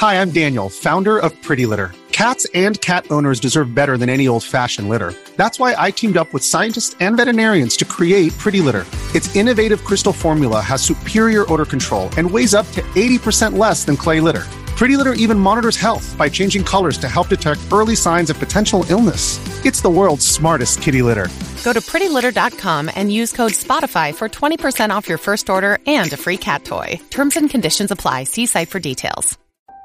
Hi, I'm Daniel, founder of Pretty Litter. Cats and cat owners deserve better than any old-fashioned litter. That's why I teamed up with scientists and veterinarians to create Pretty Litter. Its innovative crystal formula has superior odor control and weighs up to 80% less than clay litter. Pretty Litter even monitors health by changing colors to help detect early signs of potential illness. It's the world's smartest kitty litter. Go to prettylitter.com and use code SPOTIFY for 20% off your first order and a free cat toy. Terms and conditions apply. See site for details.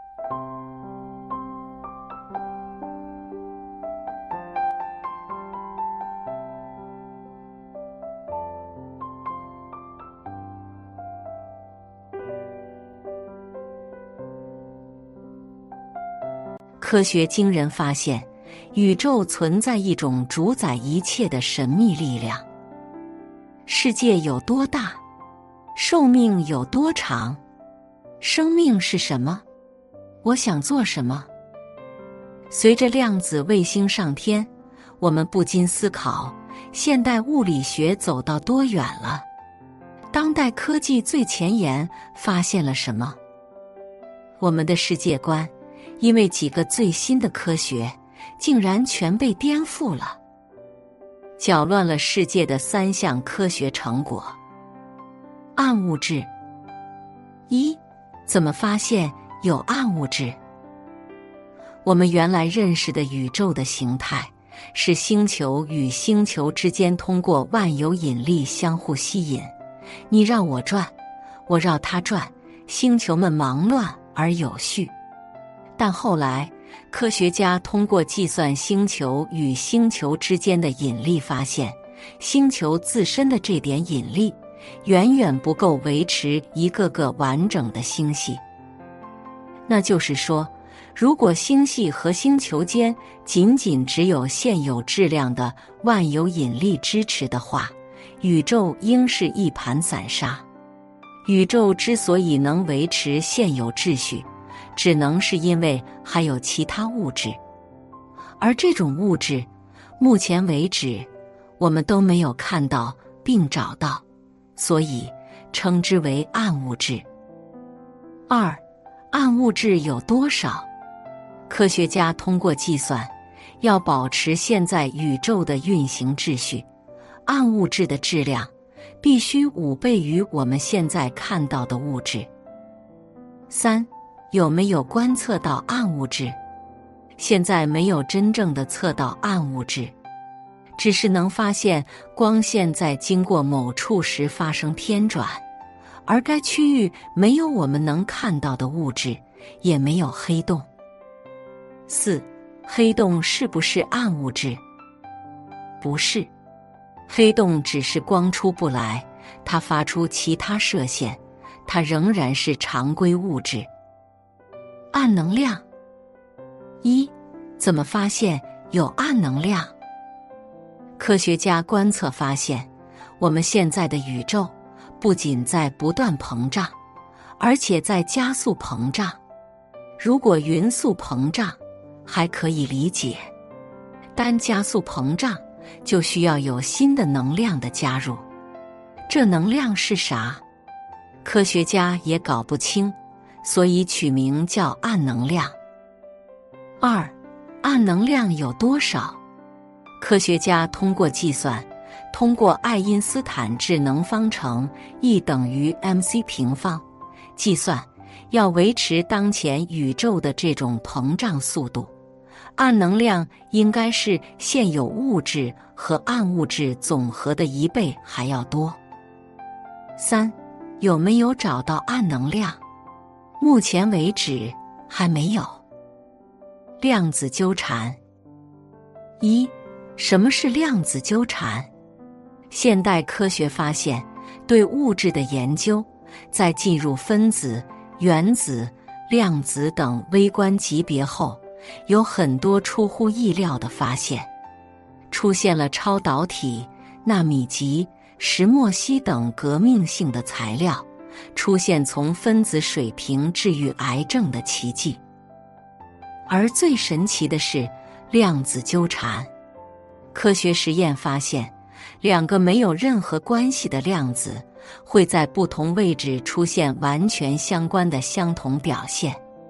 科学惊人发现，宇宙存在一种主宰一切的神秘力量。世界有多大？寿命有多长？生命是什么？我想做什么？随着量子卫星上天，我们不禁思考，现代物理学走到多远了？当代科技最前沿发现了什么？我们的世界观因为几个最新的科学，竟然全被颠覆了，搅乱了世界的3项科学成果。暗物质。一，怎么发现有暗物质？我们原来认识的宇宙的形态，是星球与星球之间通过万有引力相互吸引，你绕我转，我绕它转，星球们忙乱而有序。但后来，科学家通过计算星球与星球之间的引力，发现星球自身的这点引力远远不够维持一个个完整的星系。那就是说，如果星系和星球间仅仅只有现有质量的万有引力支持的话，宇宙应是一盘散沙。宇宙之所以能维持现有秩序，只能是因为还有其他物质，而这种物质，目前为止我们都没有看到并找到，所以称之为暗物质。二，暗物质有多少？科学家通过计算，要保持现在宇宙的运行秩序，暗物质的质量必须5倍于我们现在看到的物质。三，有没有观测到暗物质？现在没有真正的测到暗物质，只是能发现光线在经过某处时发生偏转，而该区域没有我们能看到的物质，也没有黑洞。四，黑洞是不是暗物质？不是，黑洞只是光出不来，它发出其他射线，它仍然是常规物质。暗能量。一，怎么发现有暗能量？科学家观测发现，我们现在的宇宙不仅在不断膨胀，而且在加速膨胀。如果匀速膨胀还可以理解，单加速膨胀就需要有新的能量的加入。这能量是啥？科学家也搞不清，所以取名叫暗能量。二，暗能量有多少？科学家通过计算，通过爱因斯坦智能方程 E 等于 mc 平方计算，要维持当前宇宙的这种膨胀速度，暗能量应该是现有物质和暗物质总和的1倍还要多。三，有没有找到暗能量？目前为止还没有。量子纠缠。一，什么是量子纠缠？现代科学发现，对物质的研究，在进入分子、原子、量子等微观级别后，有很多出乎意料的发现，出现了超导体、纳米级、石墨烯等革命性的材料，出现从分子水平治愈癌症的奇迹。而最神奇的是量子纠缠。科学实验发现，2个没有任何关系的量子会在不同位置出现完全相关的相同表现。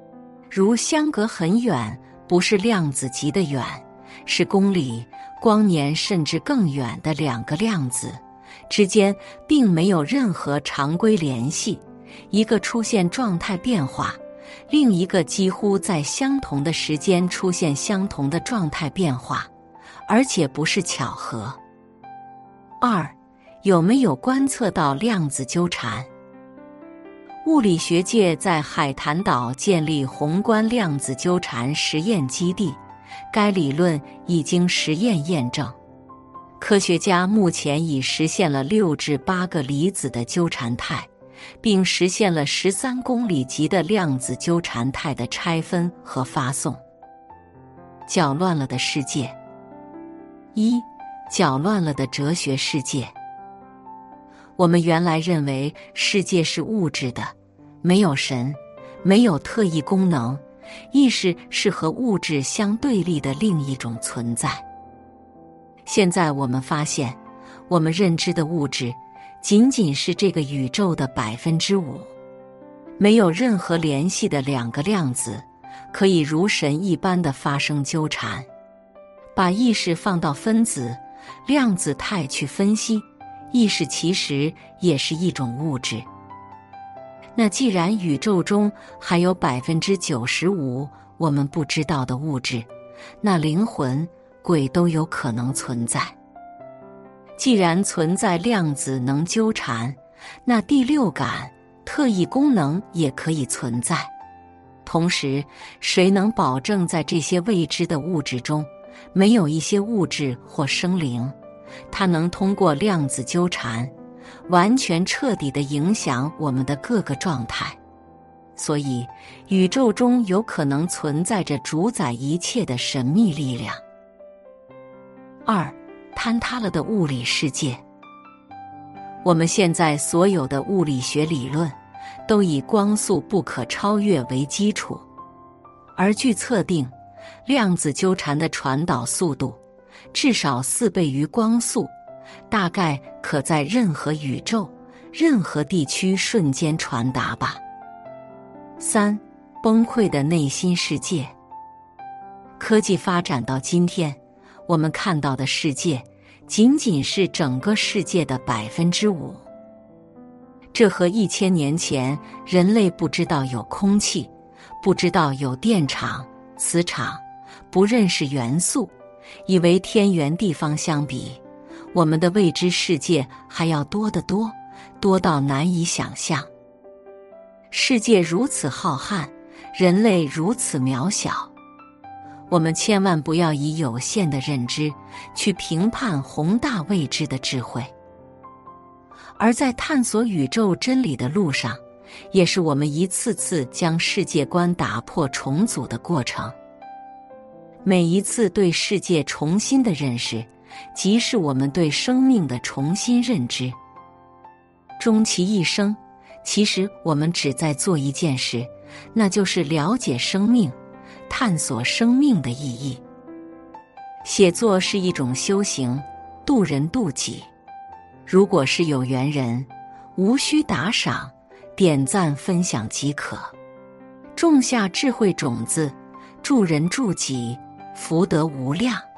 如相隔很远，不是量子级的远，是公里、光年甚至更远的两个量子之间并没有任何常规联系，一个出现状态变化，另一个几乎在相同的时间出现相同的状态变化，而且不是巧合。2. 有没有观测到量子纠缠？物理学界在海坛岛建立宏观量子纠缠实验基地，该理论已经实验验证。科学家目前已实现了6至8个离子的纠缠态，并实现了13公里级的量子纠缠态的拆分和发送。搅乱了的世界。1. 搅乱了的哲学世界。我们原来认为世界是物质的，没有神，没有特异功能，意识是和物质相对立的另一种存在。现在我们发现，我们认知的物质仅仅是这个宇宙的5%，没有任何联系的两个量子可以如神一般的发生纠缠。把意识放到分子、量子态去分析，意识其实也是一种物质。那既然宇宙中还有95%我们不知道的物质，那灵魂、鬼都有可能存在。既然存在量子能纠缠，那第六感、特异功能也可以存在。同时，谁能保证在这些未知的物质中，没有一些物质或生灵，它能通过量子纠缠，完全彻底地影响我们的各个状态？所以，宇宙中有可能存在着主宰一切的神秘力量。2. 坍塌了的物理世界。我们现在所有的物理学理论都以光速不可超越为基础，而据测定，量子纠缠的传导速度至少4倍于光速，大概可在任何宇宙、任何地区瞬间传达吧。3. 崩溃的内心世界。科技发展到今天，我们看到的世界仅仅是整个世界的5%。这和1000年前人类不知道有空气，不知道有电场、磁场，不认识元素，以为天圆地方相比，我们的未知世界还要多得多，多到难以想象。世界如此浩瀚，人类如此渺小，我们千万不要以有限的认知去评判宏大未知的智慧。而在探索宇宙真理的路上，也是我们一次次将世界观打破重组的过程。每一次对世界重新的认识，即是我们对生命的重新认知。终其一生，其实我们只在做一件事，那就是了解生命，探索生命的意义。写作是一种修行，渡人渡己。如果是有缘人，无需打赏、点赞、分享即可。种下智慧种子，助人助己，福德无量。